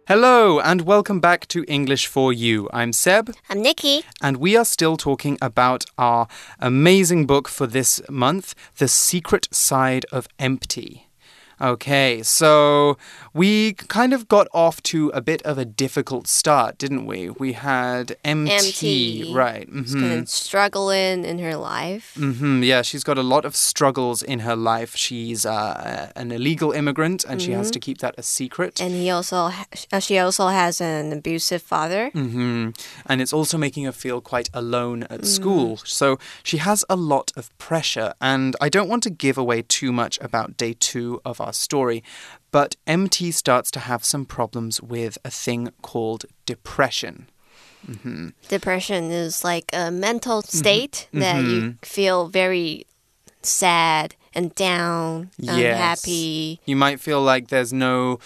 Hello, and welcome back to English for You. I'm Seb. I'm Nikki. And we are still talking about our amazing book for this month, The Secret Side of Empty. Okay, so we kind of got off to a bit of a difficult start, didn't we? We had empty. Right. She's kind of struggling in her life. Yeah, she's got a lot of struggles in her life. She's an illegal immigrant, and she has to keep that a secret. And she also has an abusive father. And it's also making her feel quite alone at school. So she has a lot of pressure. And I don't want to give away too much about day 2 of our story, but MT starts to have some problems with a thing called depression. Depression is like a mental state that you feel very sad and down, unhappy. You might feel like there's no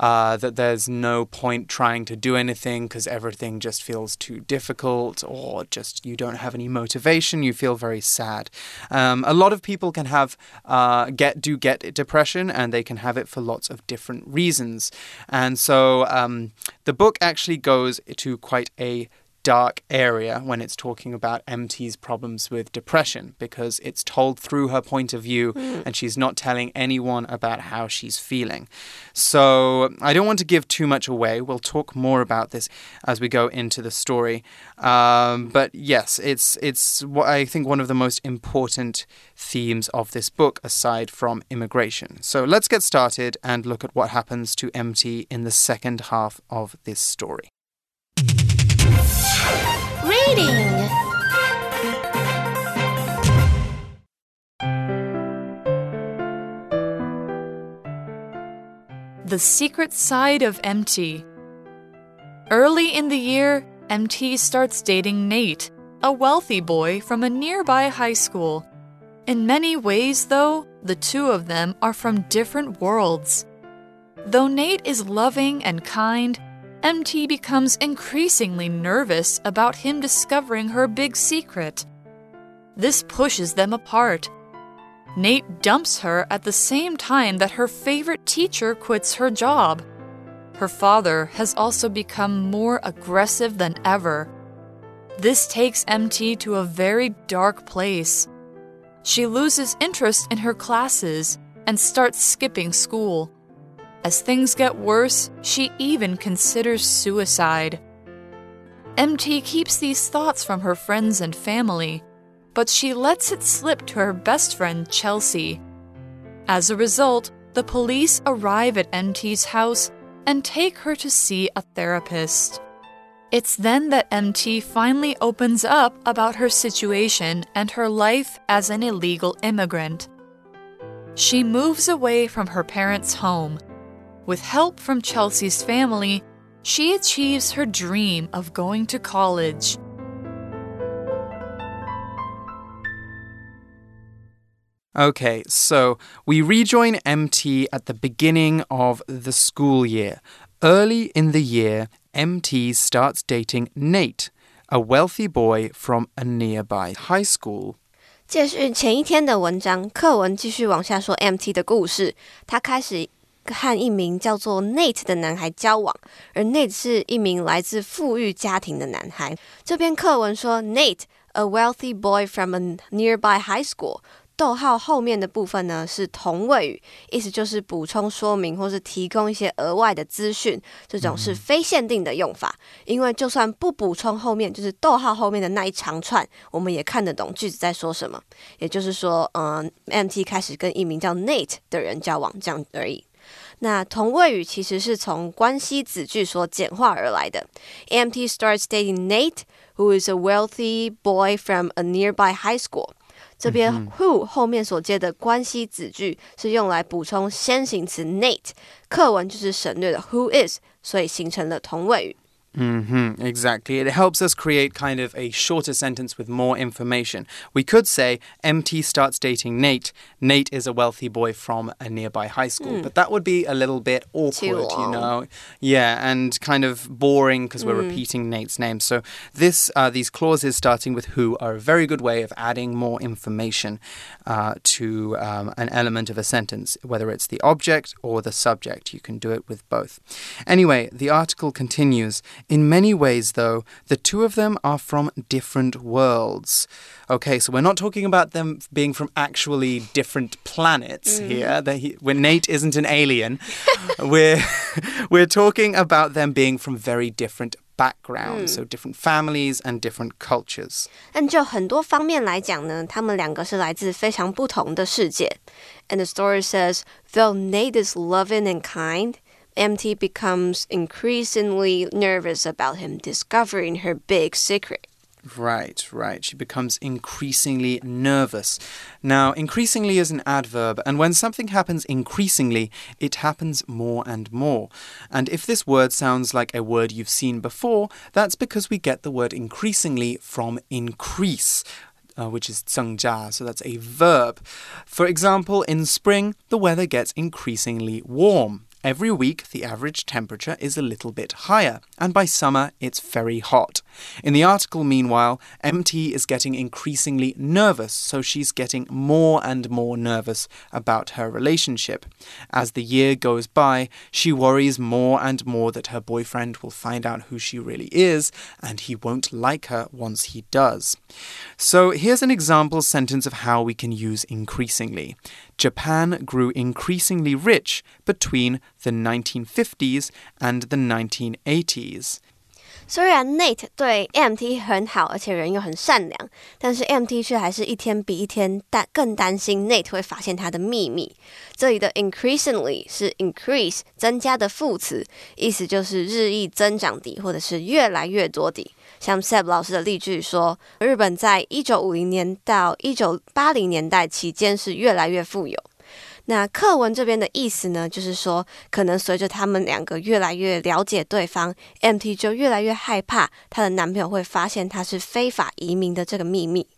point trying to do anything because everything just feels too difficult, or just you don't have any motivation. You feel very sad. A lot of people can have get depression, and they can have it for lots of different reasons. And so the book actually goes to quite a dark area when it's talking about MT's problems with depression, because it's told through her point of view and she's not telling anyone about how she's feeling. So I don't want to give too much away. We'll talk more about this as we go into the story. But yes, it's what I think one of the most important themes of this book, aside from immigration. So let's get started and look at what happens to MT in the second half of this story. Reading. The Secret Side of MT. Early in the year, MT starts dating Nate, a wealthy boy from a nearby high school. In many ways, though, the two of them are from different worlds. Though Nate is loving and kind, MT becomes increasingly nervous about him discovering her big secret. This pushes them apart. Nate dumps her at the same time that her favorite teacher quits her job. Her father has also become more aggressive than ever. This takes MT to a very dark place. She loses interest in her classes and starts skipping school. As things get worse, she even considers suicide. MT keeps these thoughts from her friends and family, but she lets it slip to her best friend, Chelsea. As a result, the police arrive at MT's house and take her to see a therapist. It's then that MT finally opens up about her situation and her life as an illegal immigrant. She moves away from her parents' home. With help from Chelsea's family, she achieves her dream of going to college. Okay, so we rejoin MT at the beginning of the school year. Early in the year, MT starts dating Nate, a wealthy boy from a nearby high school. 接續前一天的文章，課文繼續往下說 MT 的故事。他開始和一名叫做 Nate 的男孩交往，而 Nate 是一名來自富裕家庭的男孩。這篇課文說 Nate, a wealthy boy from a nearby high school. 逗號後面的部分呢是同位語，意思就是補充說明或是提供一些額外的資訊，這種是非限定的用法。因為就算不補充後面，就是逗號後面的那一長串，我們也看得懂句子在說什麼。也就是說MT 開始跟一名叫 Nate 的人交往，這樣而已。那同位語其實是從關係子句所簡化而來的。MT starts dating Nate, who is a wealthy boy from a nearby high school. 這邊 who 後面所接的關係子句是用來補充先行詞 Nate， 課文就是省略了 who is， 所以形成了同位語。 Exactly. It helps us create kind of a shorter sentence with more information. We could say, MT starts dating Nate. Nate is a wealthy boy from a nearby high school. But that would be a little bit awkward, you know? Yeah, and kind of boring because we're repeating Nate's name. So these clauses starting with who are a very good way of adding more information to an element of a sentence, whether it's the object or the subject. You can do it with both. Anyway, the article continues. In many ways, though, the two of them are from different worlds. Okay, so we're not talking about them being from actually different planets here. When Nate isn't an alien, we're talking about them being from very different backgrounds, so different families and different cultures. 但就很多方面来讲呢，他们两个是来自非常不同的世界。And the story says, though Nate is loving and kind, MT becomes increasingly nervous about him discovering her big secret. Right. She becomes increasingly nervous. Now, increasingly is an adverb, and when something happens increasingly, it happens more and more. And if this word sounds like a word you've seen before, that's because we get the word increasingly from increase. Which is 增加, so that's a verb. For example, in spring, the weather gets increasingly warm. Every week, the average temperature is a little bit higher, and by summer, it's very hot. In the article, meanwhile, MT is getting increasingly nervous, so she's getting more and more nervous about her relationship. As the year goes by, she worries more and more that her boyfriend will find out who she really is, and he won't like her once he does. So here's an example sentence of how we can use increasingly. Japan grew increasingly rich between the 1950s and the 1980s. 虽然 Nate 对 MT 很好，而且人又很善良，但是 MT 却还是一天比一天更担心 Nate 会发现他的秘密。这里的 increasingly 是 increase 增加的副詞，意思就是日益增長地，或者是越來越多地。像 Seb 老師的例句說，日本在1950年到1980年代期間是越來越富有。那課文這邊的意思呢，就是說，可能隨着他們兩個越來越了解對方 ，MT 就越來越害怕她的男朋友會發現她是非法移民的這個秘密。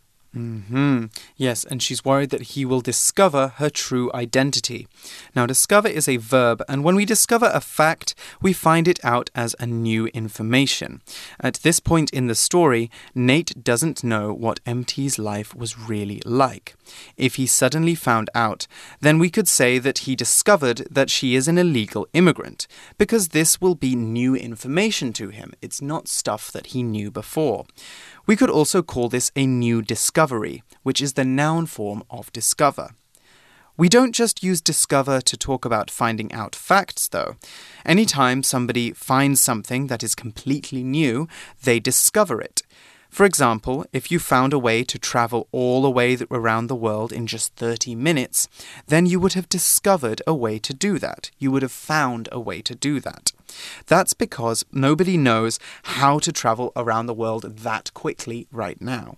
Yes, and she's worried that he will discover her true identity. Now, discover is a verb, and when we discover a fact, we find it out as a new information. At this point in the story, Nate doesn't know what MT's life was really like. If he suddenly found out, then we could say that he discovered that she is an illegal immigrant, because this will be new information to him. It's not stuff that he knew before. We could also call this a new discovery, which is the noun form of discover. We don't just use discover to talk about finding out facts, though. Anytime somebody finds something that is completely new, they discover it. For example, if you found a way to travel all the way around the world in just 30 minutes, then you would have discovered a way to do that. You would have found a way to do that. That's because nobody knows how to travel around the world that quickly right now.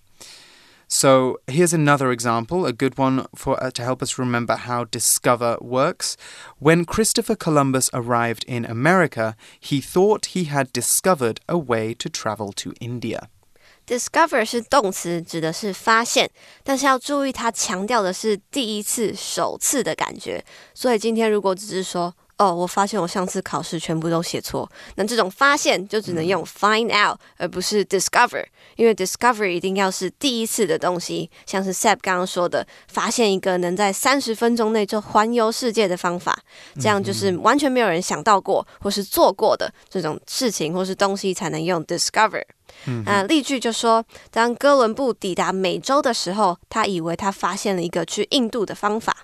So here's another example, a good one to help us remember how discover works. When Christopher Columbus arrived in America, he thought he had discovered a way to travel to India.Discover 是动詞，指的是发现，但是要注意它强調的是第一次、首次的感覺。所以今天如果只是說，我發現我上次考試全部都寫錯，那這種發現就只能用 find out，而不是 discover， 因為 discover 一定要是第一次的東西，像是 Seb 剛剛說的，發現一個能在30分鐘內就環遊世界的方法，這樣就是完全沒有人想到過或是做過的這種事情或是東西才能用 discover。例句就說，當哥倫布抵達美洲的時候，他以為他發現了一個去印度的方法。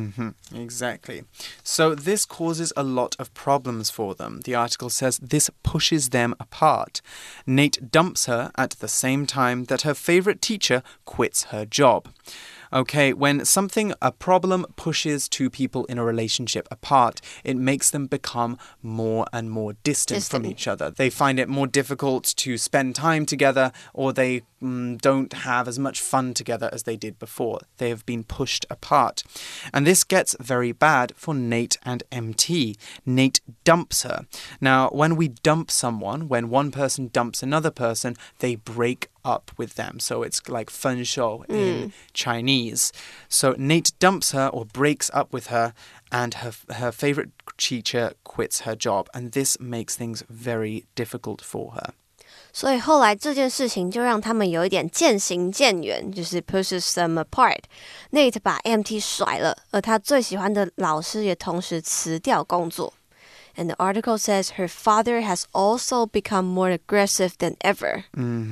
Exactly. So this causes a lot of problems for them. The article says this pushes them apart. Nate dumps her at the same time that her favorite teacher quits her job. Okay, when a problem pushes two people in a relationship apart, it makes them become more and more distant from each other. They find it more difficult to spend time together, or they don't have as much fun together as they did before. They have been pushed apart. And this gets very bad for Nate and MT. Nate dumps her. Now, when we dump someone, when one person dumps another person, they break up with them. So it's like 分手 in Chinese. So Nate dumps her or breaks up with her, and her favorite teacher quits her job. And this makes things very difficult for her. 所以后来这件事情就让他们有一點漸行漸遠，就是 pushes them apart. Nate 把 MT 甩了，而他最喜歡的老師也同時辭掉工作。And the article says her father has also become more aggressive than ever.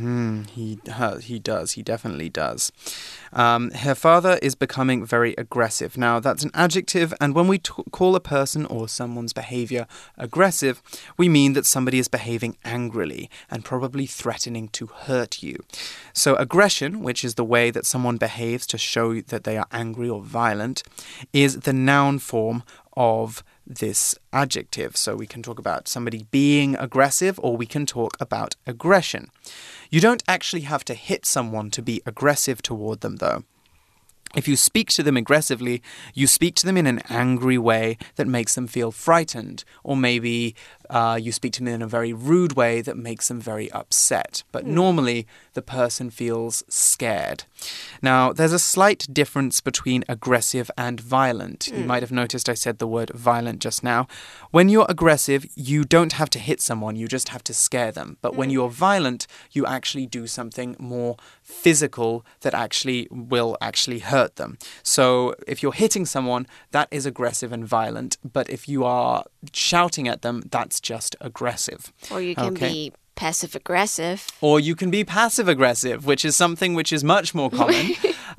He does. He definitely does. Her father is becoming very aggressive. Now, that's an adjective, and when we call a person or someone's behavior aggressive, we mean that somebody is behaving angrily and probably threatening to hurt you. So aggression, which is the way that someone behaves to show that they are angry or violent, is the noun form of this adjective. So we can talk about somebody being aggressive, or we can talk about aggression. You don't actually have to hit someone to be aggressive toward them, though. If you speak to them aggressively, you speak to them in an angry way that makes them feel frightened, or maybe you speak to them in a very rude way that makes them very upset. But normally, the person feels scared. Now, there's a slight difference between aggressive and violent. You might have noticed I said the word violent just now. When you're aggressive, you don't have to hit someone, you just have to scare them. But when you're violent, you actually do something more physical that will actually hurt them. So if you're hitting someone, that is aggressive and violent. But if you are shouting at them, that's just aggressive. Or you can be passive-aggressive. Or you can be passive-aggressive, which is something which is much more common.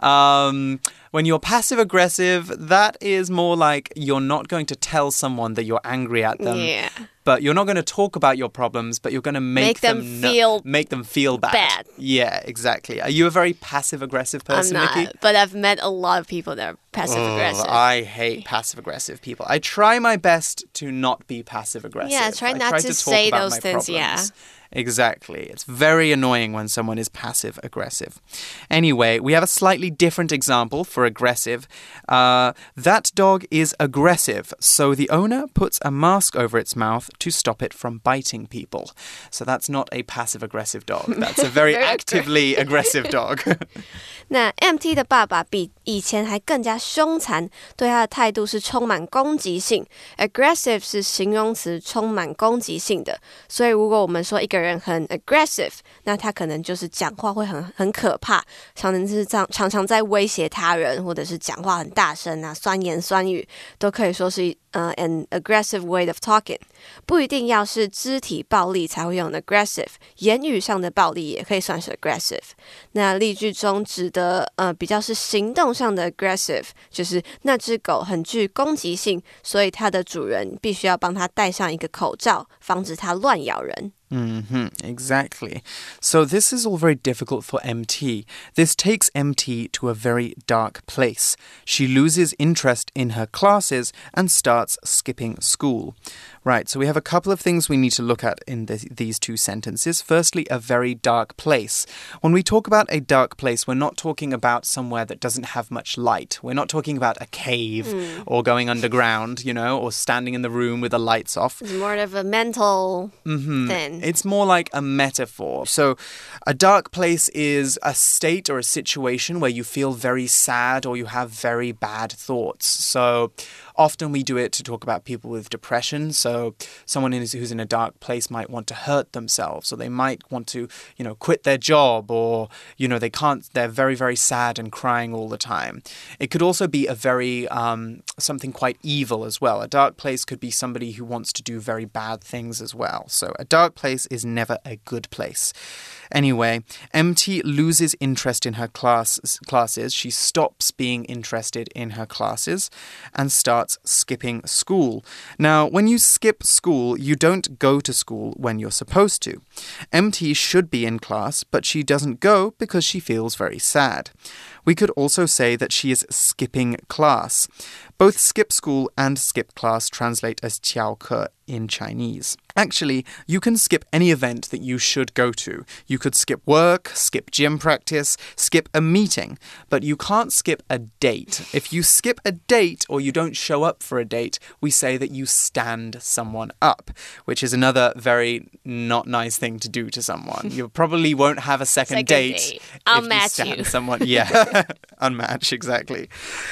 When you're passive-aggressive, that is more like you're not going to tell someone that you're angry at them. Yeah. But you're not going to talk about your problems, but you're going to make them feel bad. Yeah, exactly. Are you a very passive-aggressive person, I'm not, Nikki? but I've met a lot of people that are passive-aggressive. I hate passive-aggressive people. I try my best to not be passive-aggressive. Yeah, try not to say those things, yeah. Exactly. It's very annoying when someone is passive-aggressive. Anyway, we have a slightly different example for aggressive. That dog is aggressive, so the owner puts a mask over its mouth to stop it from biting people. So that's not a passive-aggressive dog. That's a very actively aggressive dog. 那 MT 的爸爸比以前還更加兇殘，對他的態度是充滿攻擊性。Aggressive 是形容詞，充滿攻擊性的。所以如果我們說一個人很 aggressive， 那他可能就是講話會很可怕，常常在威脅他人，或者是講話很大聲啊，酸言酸語，都可以說是an aggressive way of talking. 不一定要是肢體暴力才會用 aggressive， 言語上的暴力也可以算是 aggressive. 那例句中指的比較是行動上的 aggressive， 就是那隻狗很具攻擊性，所以它的主人必須要幫它戴上一個口罩，防止它亂咬人。 Exactly. So this is all very difficult for MT. This takes MT to a very dark place. She loses interest in her classes and starts skipping school. Right, so we have a couple of things we need to look at in these two sentences. Firstly, a very dark place. When we talk about a dark place, we're not talking about somewhere that doesn't have much light. We're not talking about a cave or going underground, or standing in the room with the lights off. It's more of a mental thing. It's more like a metaphor. So a dark place is a state or a situation where you feel very sad or you have very bad thoughts. So often we do it to talk about people with depression. So someone who's in a dark place might want to hurt themselves, or they might want to, quit their job, or, they're very, very sad and crying all the time. It could also be a very, something quite evil as well. A dark place could be somebody who wants to do very bad things as well. So a dark place is never a good place. Anyway, MT loses interest in her classes. She stops being interested in her classes and starts skipping school. Now, when you skip school, you don't go to school when you're supposed to. MT should be in class, but she doesn't go because she feels very sad. We could also say that she is skipping class. Both skip school and skip class translate as 翘課 in Chinese. Actually, you can skip any event that you should go to. You could skip work, skip gym practice, skip a meeting, but you can't skip a date. If you skip a date or you don't show up for a date, we say that you stand someone up, which is another very not nice thing to do to someone. You probably won't have a second date. I'll if match you stand you. someone. Yeah, unmatch, exactly.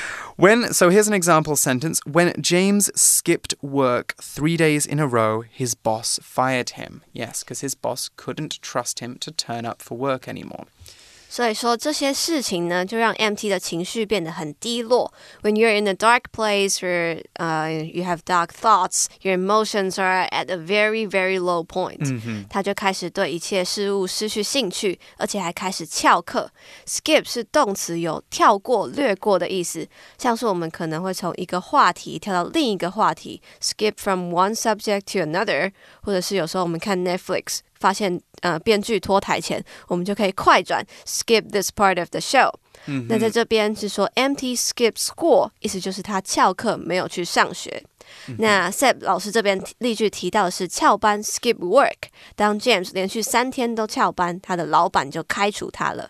So here's an example sentence. When James skipped work 3 days in a row, his boss fired him. Yes, because his boss couldn't trust him to turn up for work anymore. 所以说这些事情呢，就让 MT 的情緒变得很低落。When you're in a dark place where you have dark thoughts, your emotions are at a very, very low point. 他就開始對一切事物失去興趣，而且還開始翹課。Skip 是動詞，有跳過、略過的意思。像是我們可能會從一個話題跳到另一個話題 ，skip from one subject to another， 或者是有時候我們看 Netflix。發現編劇拖台前，我們就可以快轉 skip this part of the show。那在這邊是說 MT skip school， 意思就是他翹課沒有去上學。那 Seb 老師這邊例句提到的是翹班 skip work， 當 James 連續3天都翹班，他的老闆就開除他了。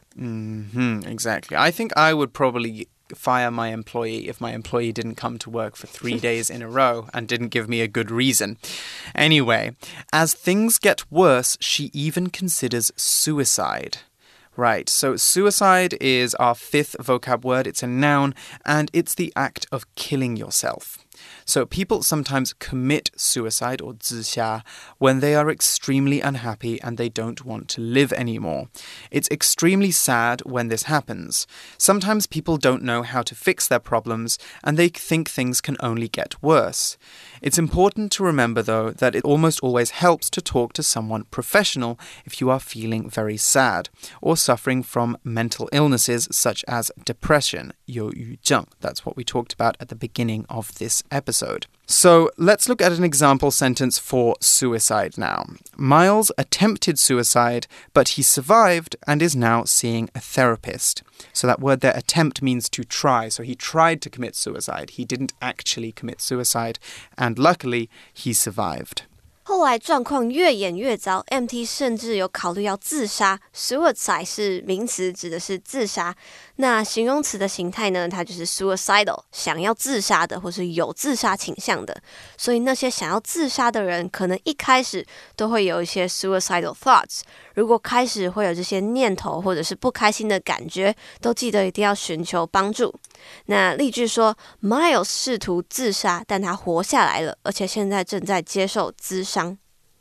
Exactly. I think I would probably fire my employee if my employee didn't come to work for 3 days in a row and didn't give me a good reason. Anyway, as things get worse, she even considers suicide. Right, so suicide is our 5th vocab word. It's a noun, and it's the act of killing yourself. So people sometimes commit suicide or 自殺 when they are extremely unhappy and they don't want to live anymore. It's extremely sad when this happens. Sometimes people don't know how to fix their problems and they think things can only get worse. It's important to remember, though, that it almost always helps to talk to someone professional if you are feeling very sad or suffering from mental illnesses such as depression, 憂鬱症. That's what we talked about at the beginning of this episode. So let's look at an example sentence for suicide now. Miles attempted suicide, but he survived and is now seeing a therapist. So that word there, attempt, means to try. So he tried to commit suicide. He didn't actually commit suicide, and luckily he survived. 後來狀況越演越糟 ，MT 甚至有考慮要自殺。Suicide 是名詞，指的是自殺。那形容詞的形態呢？它就是 suicidal， 想要自殺的，或是有自殺傾向的。所以那些想要自殺的人，可能一開始都會有一些 suicidal thoughts。如果開始會有這些念頭，或者是不開心的感覺，都記得一定要尋求幫助。那例句說 ，Miles 試圖自殺，但他活下來了，而且現在正在接受諮商。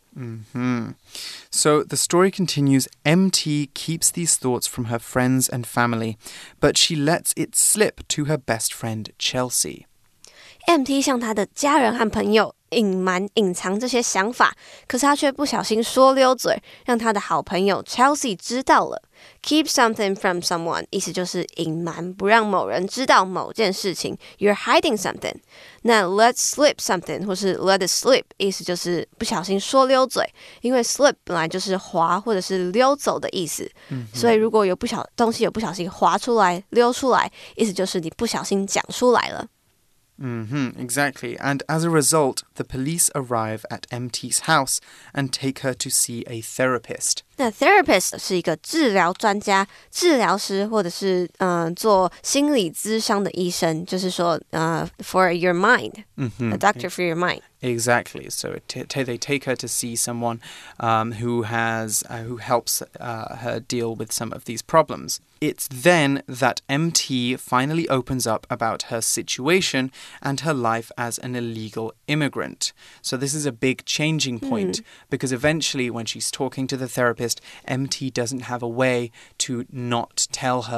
So the story continues. MT keeps these thoughts from her friends and family, but she lets it slip to her best friend Chelsea. MT 向他的家人和朋友隱藏這些想法，可是他卻不小心說溜嘴，讓他的好朋友 Chelsea 知道了。Keep something from someone 意思就是隱瞞，不讓某人知道某件事情。You're hiding something. 那 let slip something 或是 let it slip 意思就是不小心說溜嘴，因為 slip 本來就是滑或者是溜走的意思，所以如果有東西有不小心滑出來、溜出來，意思就是你不小心講出來了。 Exactly. And as a result, the police arrive at MT's house and take her to see a therapist. 那 therapist 是一個治療專家、治療師，或者是做心理諮商的醫生，就是說for your mind, a doctor for your mind. Exactly. So they take her to see someone who helps her deal with some of these problems. It's then that MT finally opens up about her situation and her life as an illegal immigrant. So this is a big changing point because eventually when she's talking to the therapist, MT doesn't have a way to not tell her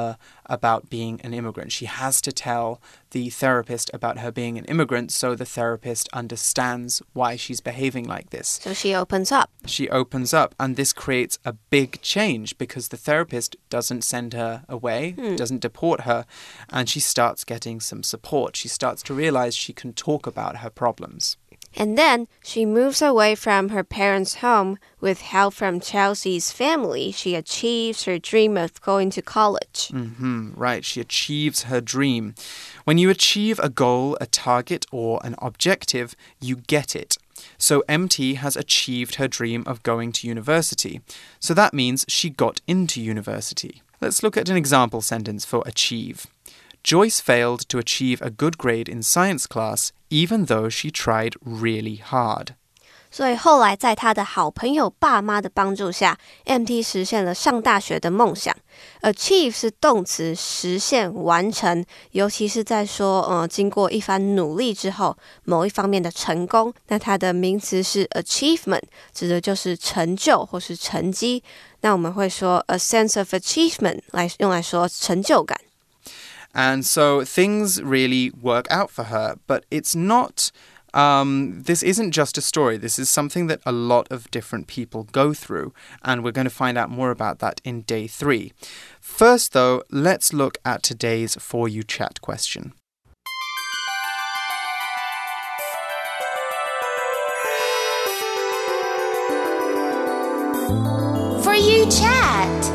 about being an immigrant. She has to tell the therapist about her being an immigrant so the therapist understands why she's behaving like this. So she opens up. She opens up, and this creates a big change because the therapist doesn't send her away, doesn't deport her, and she starts getting some support. She starts to realize she can talk about her problems. And then she moves away from her parents' home with help from Chelsea's family. She achieves her dream of going to college. Right, she achieves her dream. When you achieve a goal, a target, or an objective, you get it. So MT has achieved her dream of going to university. So that means she got into university. Let's look at an example sentence for achieve. Joyce failed to achieve a good grade in science class, even though she tried really hard. 所以后来在他的好朋友爸媽的幫助下 MT 實現了上大學的夢想。 Achieve 是動詞，實現完成，尤其是在說經過一番努力之後某一方面的成功。那它的名詞是 achievement， 指的就是成就或是成績。那我們會說 a sense of achievement 用來說成就感。 And so things really work out for her, but it's not... this isn't just a story. This is something that a lot of different people go through, and we're going to find out more about that in day 3. First, though, let's look at today's For You Chat question. For You Chat.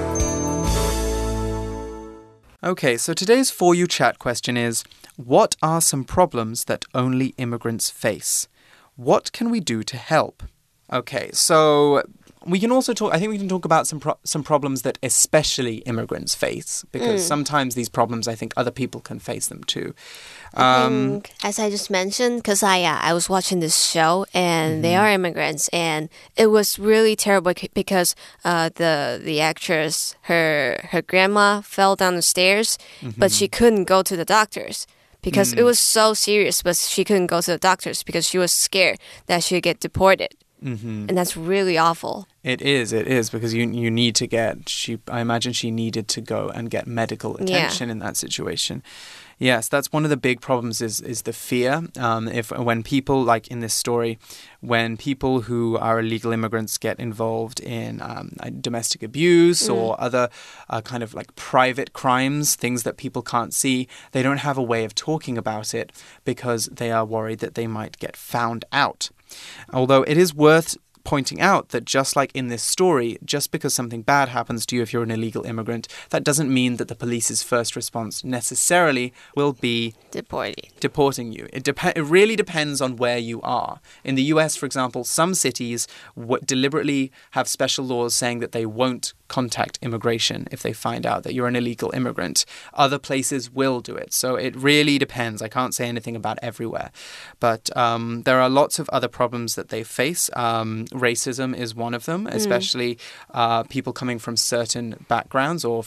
Okay, so today's For You Chat question is, what are some problems that only immigrants face? What can we do to help? Okay, so we can also talk, I think we can talk about some problems that especially immigrants face, because sometimes these problems, I think other people can face them too. I think, as I just mentioned, because I was watching this show and they are immigrants, and it was really terrible because the actress, her grandma fell down the stairs, but she couldn't go to the doctors. Because it was so serious, but she couldn't go to the doctors because she was scared that she'd get deported. And that's really awful. It is, because you need to I imagine she needed to go and get medical attention in that situation. Yes, that's one of the big problems is the fear. When people, like in this story, when people who are illegal immigrants get involved in domestic abuse or other kind of like private crimes, things that people can't see, they don't have a way of talking about it because they are worried that they might get found out. Although it is worth pointing out that just like in this story, just because something bad happens to you if you're an illegal immigrant, that doesn't mean that the police's first response necessarily will be deporting you. It really depends on where you are. In the US, for example, some cities deliberately have special laws saying that they won't contact immigration if they find out that you're an illegal immigrant. Other places will do it. So it really depends. I can't say anything about everywhere. But there are lots of other problems that they face. Racism is one of them, especially people coming from certain backgrounds or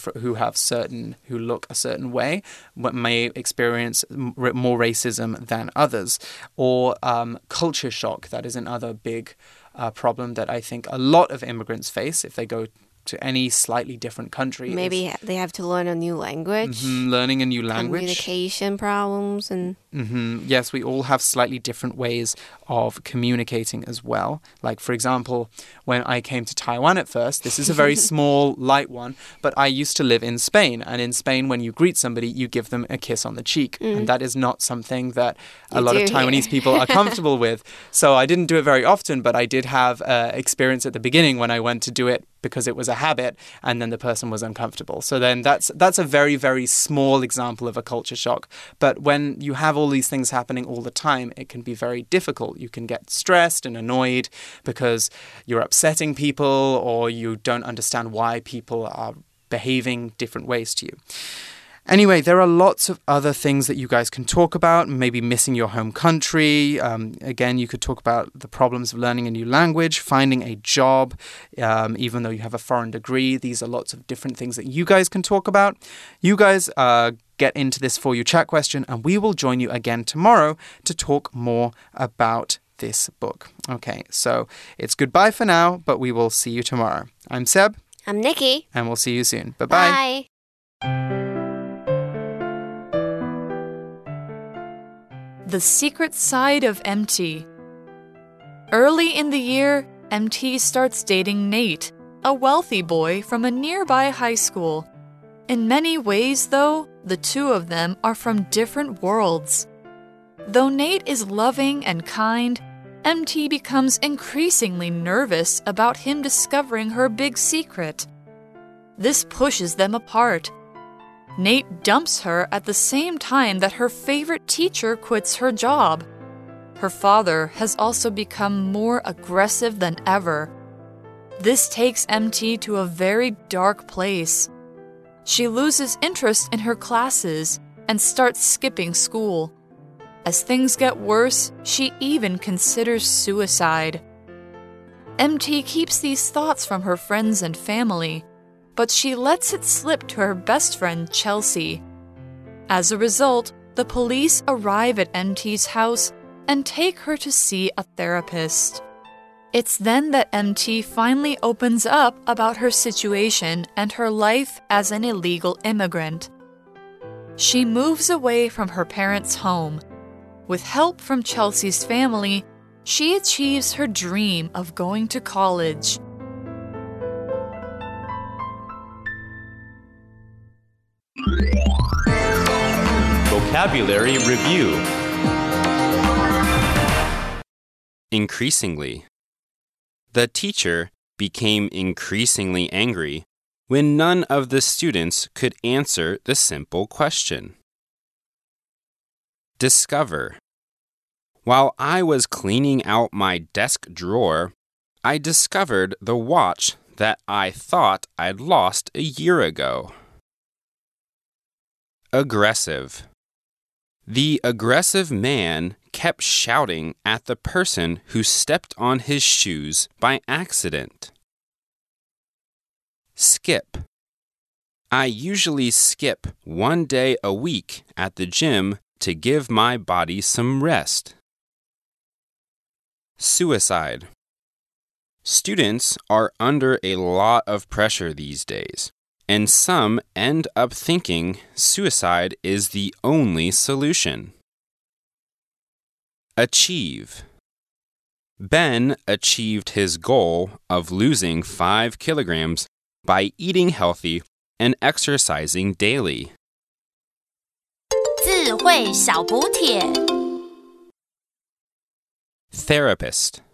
who look a certain way may experience more racism than others. Or culture shock. That is another big problem that I think a lot of immigrants face if they go to any slightly different country. Maybe they have to learn a new language. Learning a new language. Communication problems. And Yes, we all have slightly different ways of communicating as well. Like, for example, when I came to Taiwan at first, this is a very small, light one, but I used to live in Spain. And in Spain, when you greet somebody, you give them a kiss on the cheek. And that is not something that a lot of Taiwanese people are comfortable with. So I didn't do it very often, but I did have experience at the beginning when I went to do it because it was a habit, and then the person was uncomfortable. So then that's a very, very small example of a culture shock. But when you have all these things happening all the time, it can be very difficult. You can get stressed and annoyed because you're upsetting people or you don't understand why people are behaving different ways to you. Anyway, there are lots of other things that you guys can talk about, maybe missing your home country. Again, you could talk about the problems of learning a new language, finding a job, even though you have a foreign degree. These are lots of different things that you guys can talk about. You guys get into this For You Chat question, and we will join you again tomorrow to talk more about this book. Okay, so it's goodbye for now, but we will see you tomorrow. I'm Seb. I'm Nikki. And we'll see you soon. Bye-bye. Bye. The secret side of MT. Early in the year, MT starts dating Nate, a wealthy boy from a nearby high school. In many ways, though, the two of them are from different worlds. Though Nate is loving and kind, MT becomes increasingly nervous about him discovering her big secret. This pushes them apart. Nate dumps her at the same time that her favorite teacher quits her job. Her father has also become more aggressive than ever. This takes MT to a very dark place. She loses interest in her classes and starts skipping school. As things get worse, she even considers suicide. MT keeps these thoughts from her friends and family, but she lets it slip to her best friend, Chelsea. As a result, the police arrive at MT's house and take her to see a therapist. It's then that MT finally opens up about her situation and her life as an illegal immigrant. She moves away from her parents' home. With help from Chelsea's family, she achieves her dream of going to college. Vocabulary Review. Increasingly. The teacher became increasingly angry when none of the students could answer the simple question. Discover. While I was cleaning out my desk drawer, I discovered the watch that I thought I'd lost a year ago. Aggressive. The aggressive man kept shouting at the person who stepped on his shoes by accident. Skip. I usually skip 1 day a week at the gym to give my body some rest. Suicide. Students are under a lot of pressure these days, and some end up thinking suicide is the only solution. Achieve. Ben achieved his goal of losing 5 kilograms by eating healthy and exercising daily. 智慧小補帖 Therapist.